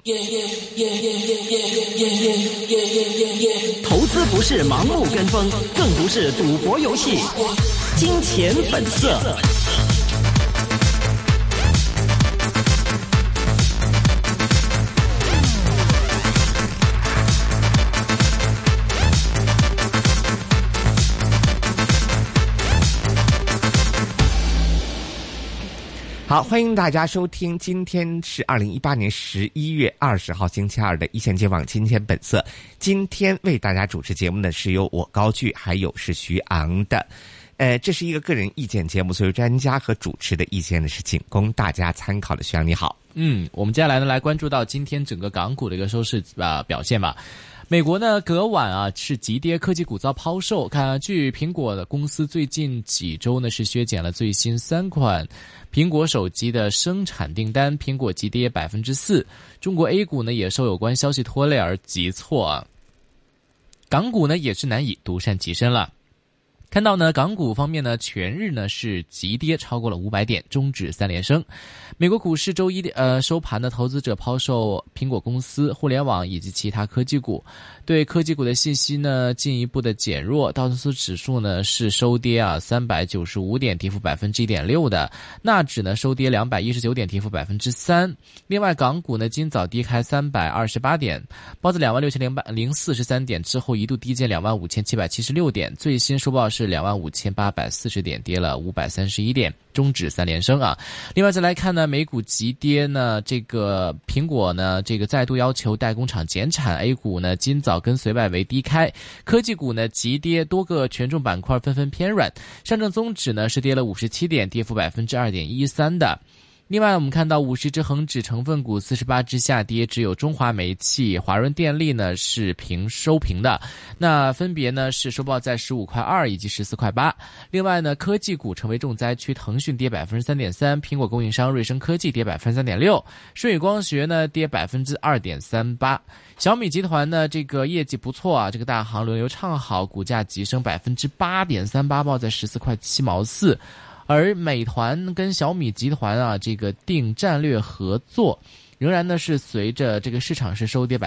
投资不是盲目跟风，更不是赌博游戏。金钱本色。好，欢迎大家收听，今天是2018年11月20号星期二的一线金网金钱本色。今天为大家主持节目的是由我高炬，还有是徐昂的。这是一个个人意见节目，所以专家和主持的意见呢是仅供大家参考的。徐昂你好。 我们接下来呢来关注到今天整个港股的一个收市表现吧。美国呢隔晚是急跌，科技股遭抛售。据苹果的公司最近几周呢是削减了最新3款苹果手机的生产订单，苹果急跌 4%。中国 A 股呢也受有关消息拖累而急挫。港股呢也是难以独善其身了。看到呢，港股方面呢，全日呢是急跌超过了500点，终止3连升。美国股市周一收盘的投资者抛售苹果公司、互联网以及其他科技股，对科技股的信息呢进一步的减弱。道琼斯指数呢是收跌395点，跌幅 1.6% 的，纳指呢收跌219点，跌幅 3%。另外，港股呢今早低开328点，报在26,043点之后一度低见25,776点，最新收报是25,840点，跌了531点，终止3连升啊。另外再来看呢，美股急跌呢，这个苹果呢这个再度要求代工厂减产， A 股呢今早跟随外围低开，科技股呢急跌，多个权重板块纷纷偏软，上证综指呢是跌了57点，跌幅 2.13% 的。另外我们看到50只恒指成分股48只下跌，只有中华煤气、华润电力呢是收平的，那分别呢是收报在15.2以及14.8。另外呢，科技股成为重灾区，腾讯跌 3.3%， 苹果供应商瑞声科技跌 3.6%， 舜宇光学呢跌 2.38%。小米集团呢这个业绩不错啊，这个大行轮流唱好，股价急升 8.38%， 报在14.7毛4。而美团跟小米集团这个订战略合作，仍然呢是随着这个市场是收跌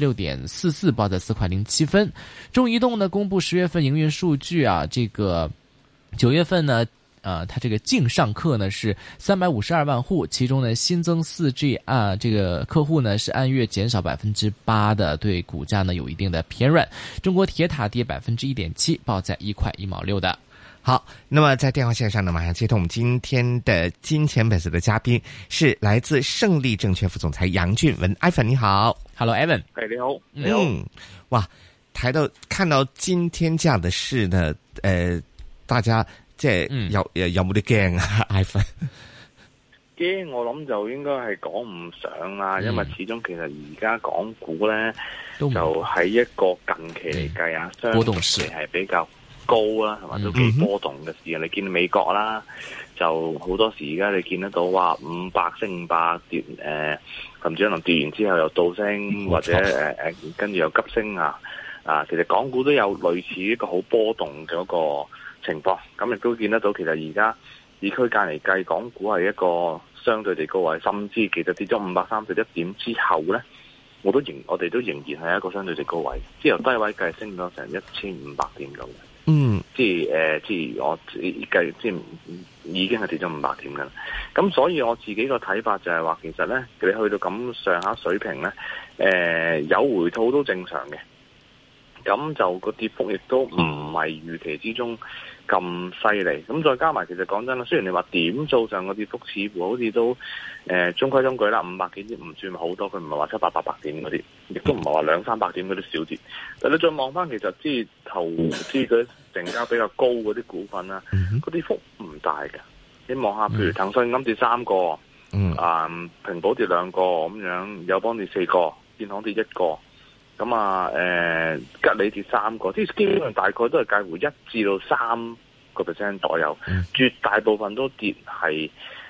6.44%， 报在4.07分。中移动呢公布10月份营运数据这个9月份呢它这个净上客呢是352万户，其中呢新增 4G 这个客户呢是按月减少 8% 的，对股价呢有一定的偏软。中国铁塔跌 1.7%， 报在1.1毛6的。 好，那么在电话线上呢，马上接通我们今天的金钱本色的嘉宾，是来自胜利证券副总裁杨俊文。Ivan 你好。 Hello Evan。 你好。你好。 哇，看到今天這樣的事呢，大家即係有冇啲驚啊 Ivan？ 驚我諗就應該係講唔上啦，因為始終其實而家港股咧就喺一個近期嚟計波動市係比較高啦，係嘛，都幾波動嘅事。你見美國啦，就好多時而家你見得到話500升500跌，甚至可能跌完之後又倒升，或者跟住又急升其實港股都有類似一個好波動嘅一個情況。咁亦都見得到，其實而家以區間嚟計，港股係一個相對地高位，甚至其實跌咗531點之後咧，我哋都仍然係一個相對地高位，即係由低位計升咗成1500點咁嘅。即係我計，即係已經係跌咗500點㗎啦。咁所以我自己個睇法就係話，其實咧你去到咁上下水平咧，有回吐都正常嘅。咁就個跌幅亦都唔係預期之中咁犀利。咁再加埋，其實講真啦，雖然你話點數上個跌幅似乎好似都中規中矩啦，500幾點唔算好多，佢唔係話700、800點嗰啲，亦都唔係話200-300點嗰啲小跌。但你再望翻，其實即係投資嗰啲成交比較高嗰啲股份啦，嗰啲幅唔大嘅。你望下，譬如騰訊咁跌3個，平保跌2個咁樣，友邦跌4個，建行跌1個。咁吉利跌3個，即係基本上大概都係介乎1至到3% 左右，絕大部分都跌係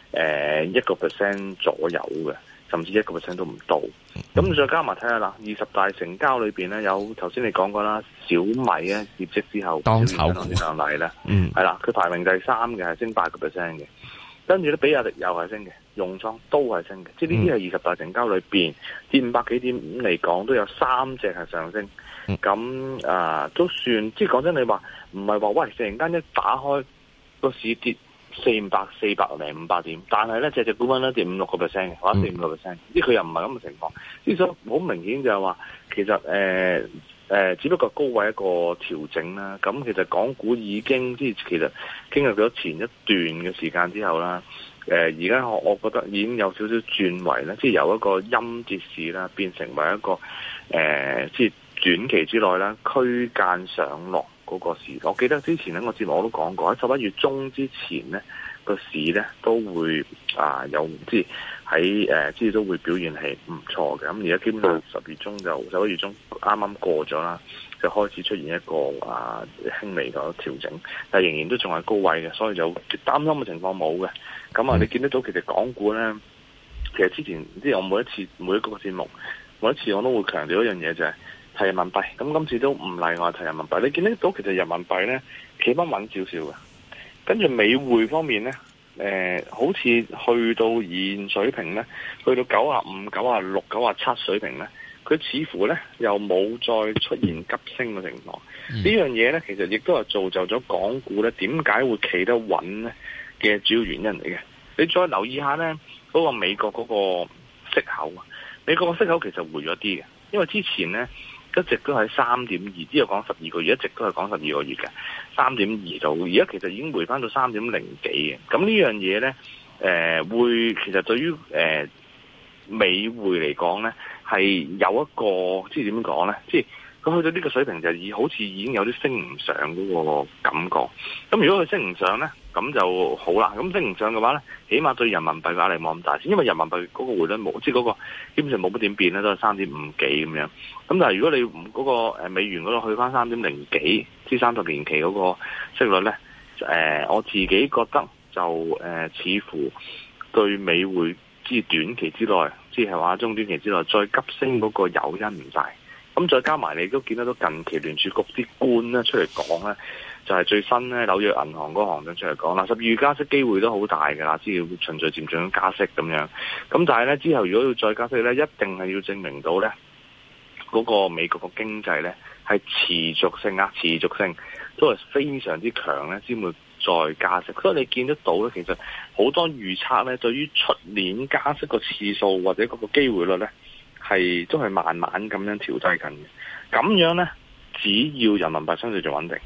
1% 左右嘅，甚至1% 都唔到。咁再加埋睇下啦，20大成交裏邊咧，有頭先你講過啦，小米咧業績之後當炒股上嚟咧，係啦，佢排名第3嘅，係升8% 嘅，跟住咧比亞迪又係升嘅， 用倉都係升嘅，即係呢啲係20大成交裏邊跌500幾點嚟講，都有3隻係上升。咁都算，即係講真，你話唔係話喂，突然間一打開個市跌400零500點，但係咧隻股份咧跌5-6%嘅，或者4-5%，即係佢又唔係咁嘅情況。之所以好明顯就係話，其實只不過高位一個調整啦。咁其實港股已經即係其實經歷咗前一段嘅時間之後啦。而家我覺得已經有少少轉為咧，即係由一個陰跌市啦，變成為一個即係短期之內啦，區間上落嗰個市。我記得之前咧，我節目我都講過，喺11月中之前咧，個市咧都會有即係喺即係都會表現係唔錯嘅。咁而家基本上11月中啱啱過咗啦，就開始出現一個輕微嘅調整，但係仍然都仲係高位嘅，所以就擔心嘅情況冇嘅。咁你見得到其實港股咧，其實之前即係我每一個節目，每一次我都會強調一樣嘢，就係睇人民幣。咁今次都唔例外睇人民幣。你見得到其實人民幣咧企翻穩少少嘅，跟住美匯方面咧，好似去到現水平咧，去到95、96、97水平咧，佢似乎咧又冇再出現急升嘅情況。呢樣嘢咧，其實亦都係造就咗港股咧點解會企得穩咧嘅主要原因嚟嘅。你再留意下咧，嗰個美國嗰個息口啊，美國個息口其實回咗啲嘅，因為之前咧一直都喺3.2，之後講12個月，一直都係講12個月嘅3.2度，而家其實已經回翻到3.0幾嘅。咁呢樣嘢咧，會其實對於美匯嚟講咧，係有一個即係點講咧，即係佢去到呢個水平就好似已經有啲升唔上嗰個感覺。咁如果佢升唔上咧，咁就好啦。咁升唔上嘅話咧，起碼對人民幣嘅壓力冇咁大先，因為人民幣嗰個匯率冇，即係嗰個基本上冇乜點變咧，都係3.5幾咁樣。咁但係如果你嗰個美元嗰度去翻3.0幾，即係30年期嗰個息率咧，我自己覺得就似乎對美匯即係短期之內，即係話中短期之內再急升嗰個誘因唔大。咁再加埋你都見得到近期聯儲局啲官咧出嚟講咧，就係最新咧紐約銀行嗰個行長出嚟講啦，12月加息機會都好大㗎啦，即係會循序漸進加息咁樣。咁但係咧之後如果要再加息咧，一定係要證明到咧嗰個美國個經濟咧係持續性都係非常之強咧，先會再加息。所以你見得到咧，其實好多預測咧，對於出年加息個次數或者嗰個機會率咧，都係慢慢咁樣調低緊嘅。咁樣咧，只要人民幣相對就穩定，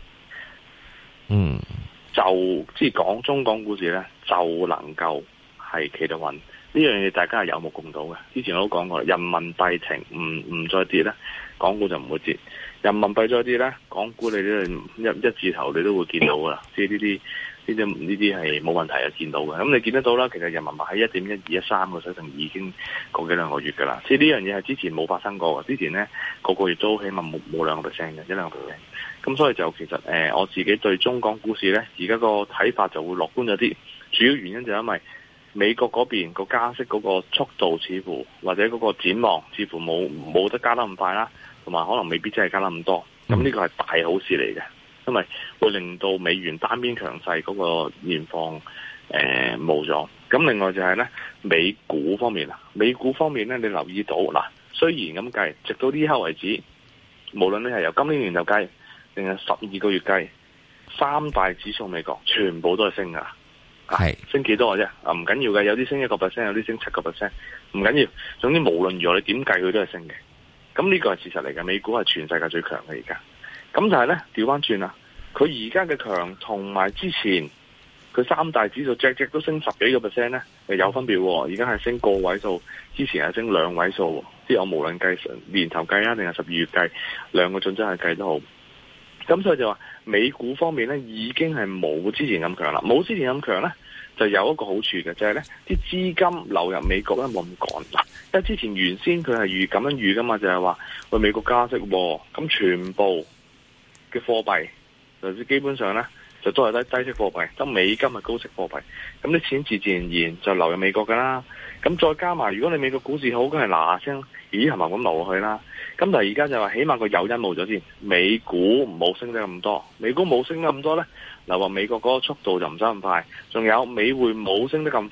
就即係講中港股市咧，就能夠係企得穩。呢樣嘢大家係有目共睹嘅。之前我都講過，人民幣停唔再跌咧，港股就唔會跌；人民幣再跌咧，港股你都一字頭你都會見到噶啦。即係呢啲係冇問題啊，見到嘅。咁你見得到啦，其實人民幣喺1.12、1.3個水平已經過幾兩個月噶啦。即係呢樣嘢係之前冇發生過嘅。之前咧個月都起碼冇2%嘅，1-2%。咁所以就其實我自己對中港股市咧，而家個睇法就會樂觀咗啲。主要原因就係因為美國嗰邊個加息嗰個速度似乎或者嗰個展望似乎冇得加得咁快啦，同埋可能未必真係加得咁多。咁呢個係大好事嚟嘅。因為會令到美元單邊強勢嗰個現況冇咗。咁另外就係咧美股方面啦，美股方面咧你留意到嗱，雖然咁計，直到呢刻為止，無論你係由今年年頭計定係12個月計，三大指數美國全部都係升噶，係升幾多嘅啫？唔緊要嘅，有啲升1%，有啲升7%，唔緊要。總之無論如何你點計佢都係升嘅。咁呢個係事實嚟嘅，美股係全世界最強嘅而家。咁就係咧，調翻轉啦，佢而家嘅強同埋之前佢三大指數隻都升10幾個%咧，有分別喎。而家係升個位數，之前係升兩位數。即係我無論計年頭計啊，定係12月計，兩個準則係計都好。咁所以就話美股方面咧，已經係冇之前咁強啦。冇之前咁強咧，就有一個好處嘅，就係咧啲資金流入美國咧冇咁趕啦。因為之前原先佢係咁樣預噶嘛，就係話喂美國加息喎，咁全部嘅貨幣就基本上咧就都係低息貨幣，得美金係高息貨幣，咁啲錢自然而然就流入美國噶啦。咁再加埋如果你美國股市好，梗係嗱聲咦係咪咁流落去啦？咁但係而家就話起碼個誘因冇咗先，美股冇升得咁多，美股冇升得咁多咧，流入美國嗰個速度就唔使咁快，仲有美匯冇升得咁快，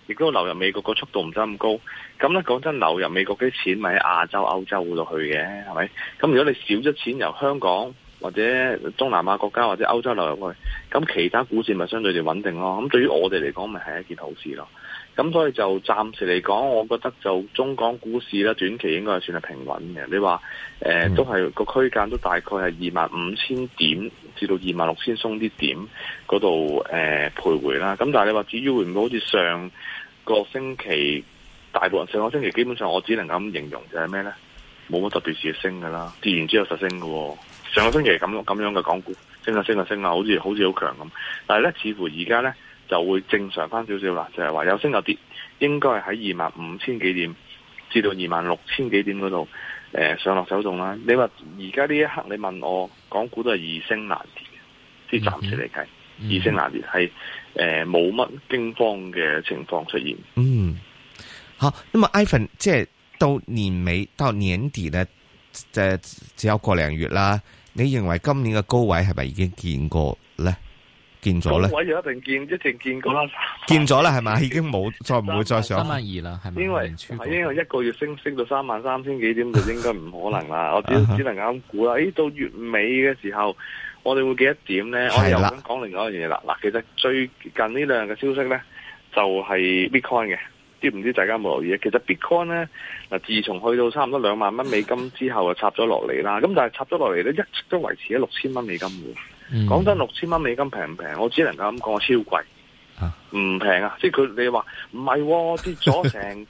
亦都流入美國個速度唔使咁高。咁咧講真，流入美國啲錢咪喺亞洲、歐洲嗰度去嘅，係咪？咁如果你少咗錢由香港或者東南亞國家或者歐洲流入去，咁其他股市咪相對地穩定咯。咁對於我哋嚟講，咪係一件好事咯。咁所以就暫時嚟講，我覺得就中港股市咧，短期應該係算係平穩嘅。你話都係個區間都大概係25,000點至到26,000鬆啲點嗰度徘徊啦。咁但係你話至於會唔會好似上個星期大部分上個星期基本上我只能夠咁形容就係咩咧？冇乜特別事升㗎啦，跌完之後實升㗎喎。上個星期咁樣嘅港股升啊，好似好強咁。但係咧，似乎而家咧就會正常翻少少啦，就係話有升有跌，應該係喺25,000幾點至到26,000幾點嗰度上落走動啦。你話而家呢一刻你問我，港股都係易升難跌嘅，即係暫時嚟計，易升難跌係冇乜驚慌嘅情況出現。 嗯，好。那麼 Ivan 即係到年尾到年底咧，只有個零月啦。你認為今年嘅高位係咪已經見過咧？見咗咧？高位就一定見過啦，見咗啦係咪？已經冇再唔會再上 32,000啦，係咪？ 因為一個月升到33,000幾點就應該唔可能啦。我只能咁估啦。到月尾嘅時候，我哋會幾多點咧？我又想講另外一樣嘢啦。嗱，其實最近呢兩日嘅消息咧，就係 Bitcoin 嘅。唔知大家有冇留意？其實 Bitcoin 咧，嗱，自從去到差唔多2萬蚊美金之後，就插咗落嚟啦。咁但係插咗落嚟咧，一直都維持喺6000蚊美金嘅。講真，6000蚊美金平唔平？我只能夠咁講，我超貴，唔平啊！即係佢你話唔係跌咗成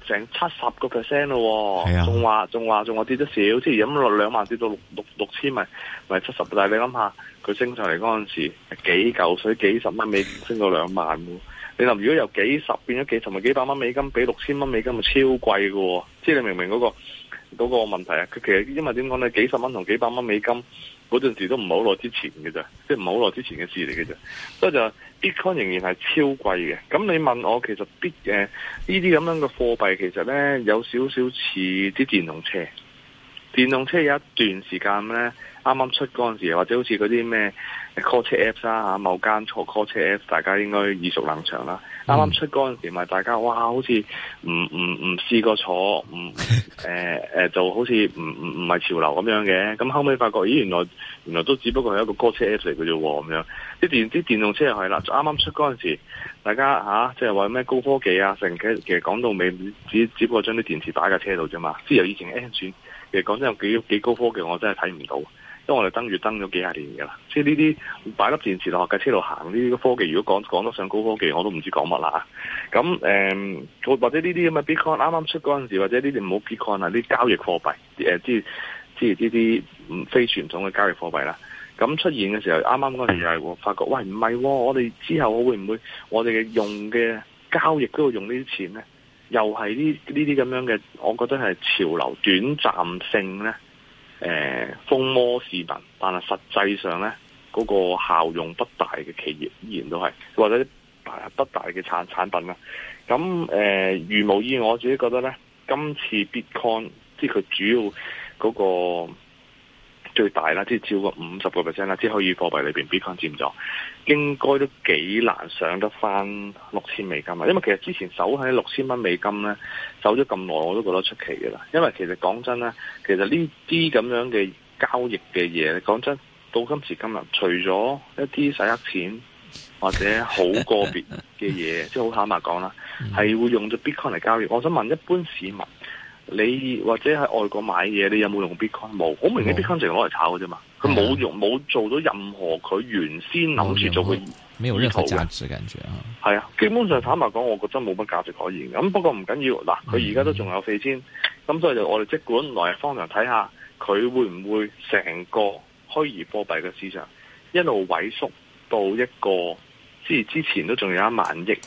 70% 咯，仲話跌得少，即係咁落2萬跌到6,000咪70。但係你諗下，佢升上嚟嗰陣時幾嚿水，幾十蚊美金升到2萬喎。你諗如果由幾十變咗幾十，咪幾百蚊美金，俾6000蚊美金咪超貴喎。即係你明唔明嗰個問題啊？佢其實因為點講咧，幾十蚊同幾百蚊美金嗰陣時都唔係好耐之前嘅啫，即係唔係好耐之前嘅事嚟嘅啫。所以就 Bitcoin 仍然係超貴嘅。咁你問我其實呢啲咁樣嘅貨幣其實咧有少少似啲電動車。電動車有一段時間咧，啱啱出嗰陣時，或者好似嗰啲咩 call 車 apps 啦，某間錯 call 車 apps， 大家應該耳熟能詳啦。啱啱出嗰陣時，咪大家哇，好似唔試過坐，就好似唔係潮流咁樣嘅。咁後尾發覺，咦，原來都只不過係一個 call 車 apps 嚟嘅啫喎，咁樣啲電動車又係啦。啱啱出嗰陣時，大家即係話咩高科技啊，成其實講到尾，只不過將啲電池擺喺架車度啫嘛。即係由以前 N 轉。其實講真有幾高科技，我真係睇唔到，因為我哋登月登咗幾廿年㗎啦。即係呢啲擺粒電池落架車度行，呢啲科技如果講得上高科技，我都唔知講乜啦。咁或者呢啲咁嘅 Bitcoin 啱啱出嗰陣時，或者呢啲唔好 Bitcoin 啊，啲交易貨幣即係呢啲非傳統嘅交易貨幣啦。咁出現嘅時候，啱啱嗰陣時又係發覺，喂唔係，我哋之後會唔會我哋嘅用嘅交易都會用呢啲錢咧？又係呢啲咁樣嘅，我覺得係潮流短暫性咧，風魔市民，但係實際上咧嗰個效用不大嘅企業依然都係，或者不大嘅產品啦。咁如無意外，我自己覺得咧，今次 Bitcoin 即係佢主要嗰個最大啦，即係超過50% 啦，即係虛擬貨幣裏邊 Bitcoin 佔咗，應該都幾難上得翻6000美金啊！因為其實之前守喺6000蚊美金咧，守咗咁耐，我都覺得出奇嘅啦。因為其實講真咧，其實呢啲咁樣嘅交易嘅嘢，講真到今時今日，除咗一啲洗黑錢或者好個別嘅嘢，即係好坦白講啦，係會用咗 Bitcoin 嚟交易。我想問一般市民，你或者喺外國買嘢，你有冇用 Bitcoin？冇，好明顯 Bitcoin 淨係攞嚟炒嘅啫嘛。佢冇做到任何佢原先諗住做嘅， 沒有任何價值感覺啊。 係啊，基本上坦白講，我覺得冇乜價值可言。咁不過唔緊要，嗱，佢而家都仲有4000，咁所以就我哋即管來日方長睇下，佢會唔會成個虛擬貨幣嘅市場一路萎縮到一個，即係之前都仲有1萬億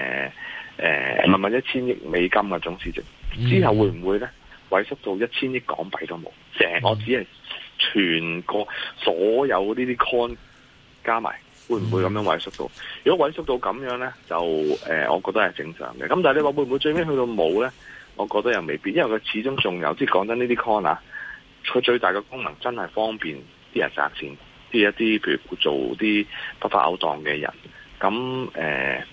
1000億美金嘅總市值。之後會唔會咧萎縮到1000億港幣都冇？我只係全個所有呢啲 coin 加埋，會唔會咁樣萎縮到？如果萎縮到咁樣咧，就我覺得係正常嘅。咁但係你話會唔會最尾去到冇咧？我覺得又未必，因為佢始終仲有，即係講真呢啲 coin 啊，佢最大嘅功能真係方便啲人賺錢，啲一啲譬如做啲不法勾當嘅人，咁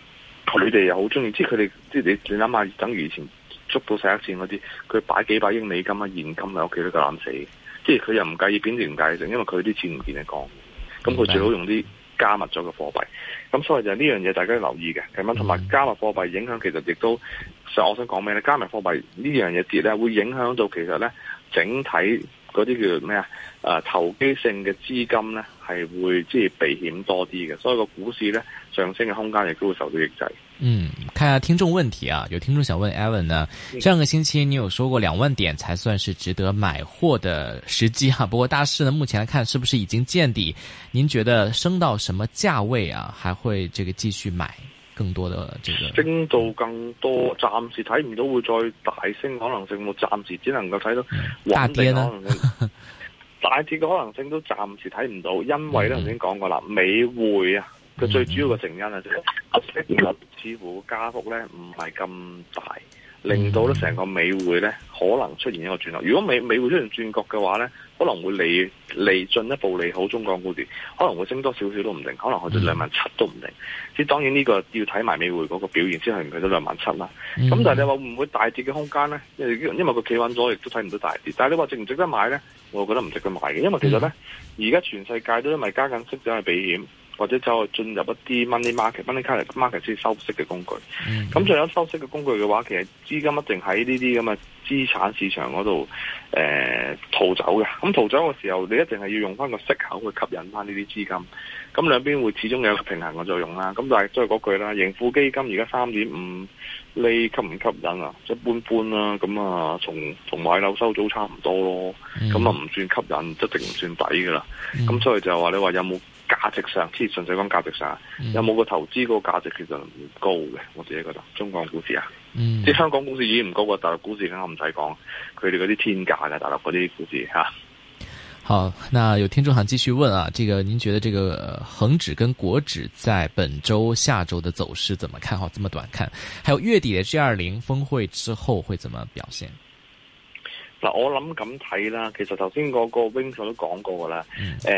佢哋又好中意，即係佢哋即係你諗下，等於以前捉到洗黑錢嗰啲，佢擺幾百億美金啊現金喺屋企都夠膽死，即係佢又唔介意貶值唔介意剩，因為佢啲錢唔見得光，咁佢最好用啲加密咗嘅貨幣，咁所以就呢樣嘢大家要留意嘅，咁同埋加密貨幣影響其實亦都，我想講咩咧？加密貨幣呢樣嘢跌咧，會影響到其實咧整體嗰啲叫做咩啊？投機性嘅資金咧係會即係避險多啲嘅，所以個股市咧上升嘅空間亦都會受到抑制。 看下聽眾問題啊，有聽眾想問 Alan 呢，上個星期你有說過2萬點才算是值得買貨的時機哈，不過大市呢目前來看是不是已經見底？您覺得升到什麼價位啊，還會這個繼續買更多的這個？ 升到更多，暫時睇唔到會再大升可能性，我暫時只能夠睇到穩定可能性。大跌嘅可能性都暫時睇唔到，因為咧頭先講過啦，美匯啊。佢最主要嘅成因啊，就係息率似乎加幅咧唔係咁大，令到咧成個美匯咧可能出現一個轉角。如果美匯出現轉角嘅話咧，可能會利進一步利好中港股市，可能會升多少少都唔定，可能去到27000都唔定。即係當然呢個要睇埋美匯嗰個表現先係唔去到27000啦。咁但係你話會唔會大跌嘅空間咧？因為佢企穩咗，亦都睇唔到大跌。但係你話值唔值得買咧？我覺得唔值得買嘅，因為其實咧而家全世界都因為加緊息走去避險。或者走去進入一啲 money market 先收息嘅工具。咁仲有收息嘅工具嘅話，其實資金一定喺呢啲咁嘅資產市場嗰度逃走嘅。咁逃走嘅時候，你一定係要用翻個息口去吸引翻呢啲資金。咁兩邊會始終有一個平衡嘅作用啦。咁但係都係嗰句啦，盈富基金而家3.5厘吸唔吸引啊？一般般啦。咁啊，同買樓收租差唔多咯。咁啊唔算吸引，一定唔算抵噶啦。咁所以就話你話有冇價值上，即係純粹講價值上，有冇個投資嗰個價值其實唔高嘅，我自己覺得。中港股市啊，即係香港股市已經唔高過大陸股市，梗係唔使講，佢哋嗰啲天價嘅大陸嗰啲股市吓。 好，那有聽眾想繼續問啊，這個您覺得這個恒指跟國指在本周、下周的走勢怎麼看？好，這麼短看，還有月底的 G20 峰會之後會怎麼表現？ 嗱，我諗咁睇啦，其實頭先嗰個 Wing 都講過噶啦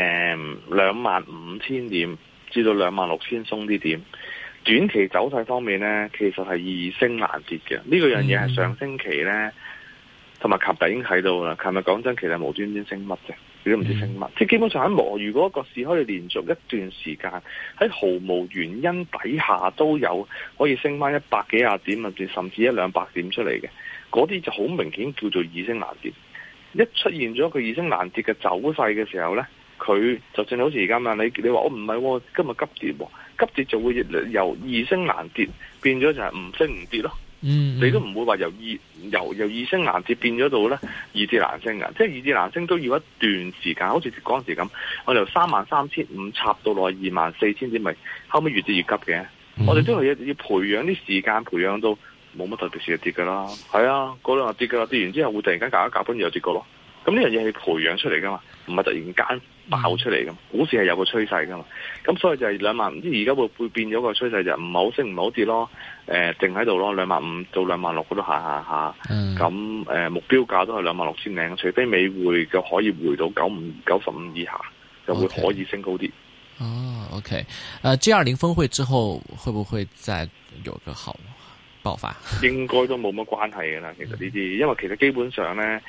，25000點至到26000鬆啲點，短期走勢方面咧，其實係易升難跌嘅。呢個樣嘢係上星期咧，同埋琴日已經睇到啦。琴日講真，其實無端端升乜啫，你都唔知升乜。即係基本上喺如果個市可以連續一段時間喺毫無原因底下都有可以升翻100幾廿點，甚至100-200點出嚟嘅。嗰啲就好明顯叫做易升難跌，一出現咗佢易升難跌嘅走勢嘅時候咧，佢就正好似而家嘛，你話我唔係，今日急跌，急跌就會由易升難跌變咗就係唔升唔跌咯。你都唔會話由易升難跌變咗到咧易跌難升嘅，即係易跌難升都要一段時間，好似嗰陣時咁，我由33500插到落24000點，咪後尾越跌越急嘅。我哋都係要培養啲時間，培養到冇乜特別事就跌噶啦，係啊，嗰兩日跌噶啦，跌完之後會突然間夾一夾，跟住又跌過咯。咁呢樣嘢係培養出嚟噶嘛，唔係突然間爆出嚟噶。股市係有個趨勢噶嘛，咁所以就係2萬，唔知而家會變咗個趨勢就唔係好升唔係好跌咯，定喺度咯，25000到26000嗰度下。咁目標價都係26000零，除非美匯嘅可以回到95以下，就會可以升高啲。 哦，OK， G20 峰會之後會不會再有個好爆發？ 應該都冇乜關係嘅啦，其實呢啲，因為其實基本上咧，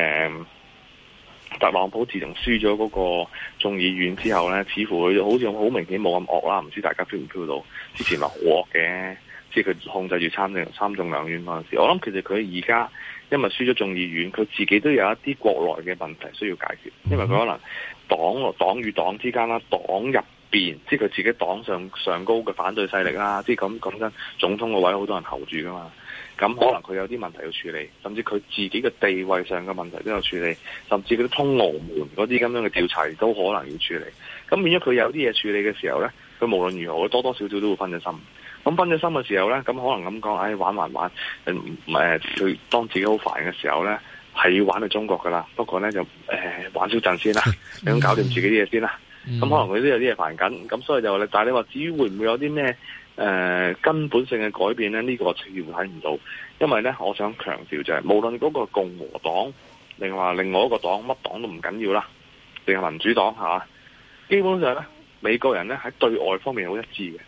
特朗普自從輸咗嗰個眾議院之後咧，似乎佢好似好明顯冇咁惡啦，唔知大家 feel 唔 feel 到？之前話好惡嘅，即係佢控制住參眾兩院嗰陣時，我諗其實佢而家因為輸咗眾議院，佢自己都有一啲國內嘅問題需要解決，因為佢可能黨與黨之間啦，黨入邊即係佢自己黨上高嘅反對勢力啦，即係咁講真，總統個位好多人候住噶嘛，咁可能佢有啲問題要處理，甚至佢自己嘅地位上嘅問題都有處理，甚至嗰啲通俄門嗰啲咁樣嘅調查都可能要處理。咁變咗佢有啲嘢處理嘅時候咧，佢無論如何，多多少少都會分咗心。咁分咗心嘅時候咧，咁可能咁講，玩，佢當自己好煩嘅時候咧，係要玩去中國噶啦。不過咧就玩少陣先啦，你咁搞掂自己啲嘢先啦。咁可能佢都有啲嘢煩緊，咁所以就話，但係你話至於會唔會有啲咩根本性嘅改變咧？呢個我似乎睇唔到，因為咧，我想強調就係，無論嗰個共和黨，另外一個黨，乜黨都唔緊要啦，定係民主黨嚇，基本上咧，美國人咧喺對外方面好一致嘅，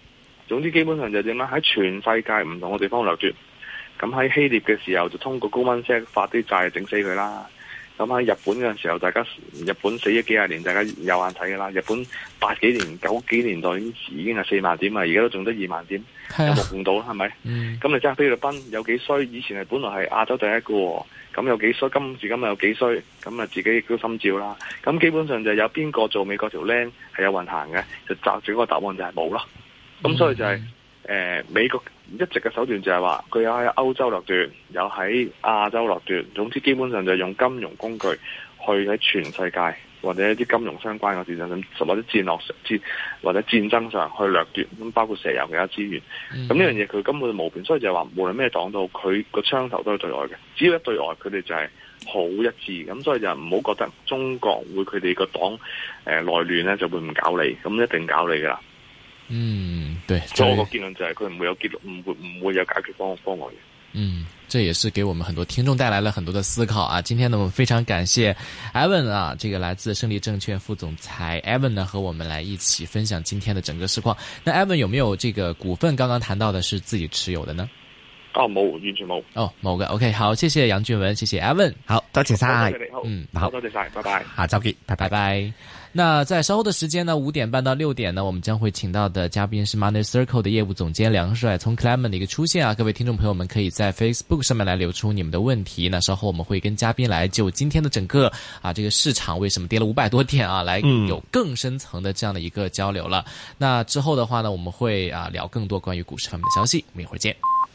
總之基本上就點咧？喺全世界唔同嘅地方掠奪。咁喺希臘嘅時候就通過高溫石發啲債整死佢啦。咁喺日本嘅時候，日本死咗幾廿年，大家有眼睇㗎啦。日本80幾年、90幾年代已經係4萬點啊，而家都仲得2萬點，有目共睹啦，係咪？咁你真係菲律賓有幾衰？以前係本來係亞洲第一個，咁有幾衰？今時今日有幾衰？咁啊自己亦都心照啦。咁基本上就有邊個做美國條僆係有運行嘅，就找住個答案就係冇咯。咁所以就係、美國一直嘅手段就係話佢有喺歐洲掠奪，有喺亞洲掠奪，總之基本上就係用金融工具去喺全世界或者一啲金融相關嘅事上，或者或者戰爭上去掠奪，咁包括石油其他資源。咁呢樣嘢佢根本就無邊，所以就係話無論咩黨到，佢個槍頭都係對外嘅，只要一對外，佢哋就係好一致。咁所以就唔好覺得中國會佢哋個黨內亂咧就會唔搞你，咁一定搞你噶啦。 對， 所以我個結論就係佢唔會有結論，唔會有解決方案嘅。 這也是給我們很多聽眾帶來了很多的思考啊！今天呢，我們非常感謝 Evan 啊，這個來自勝利證券副總裁 Evan 呢，和我們來一起分享今天的整個市況。那 Evan 有沒有這個股份剛剛談到的是自己持有的呢？ 冇，完全冇。 冇嘅。OK，好，謝謝楊俊文，謝謝 Evan， 好，多謝晒， 好，多謝晒，拜拜， 下周見，拜拜。那在稍後的時間呢，5點半到6點呢，我們將會請到的嘉賓是 Money Circle 的業務總監梁帥聰 Clement 的一個出現啊，各位聽眾朋友們可以在 Facebook 上面來留出你們的問題。那稍後我們會跟嘉賓來就今天的整個這個市場為什麼跌了500多點啊，來有更深層的這樣的一個交流了。那之後的話呢，我們會聊更多關於股市方面的消息，我們一會兒見。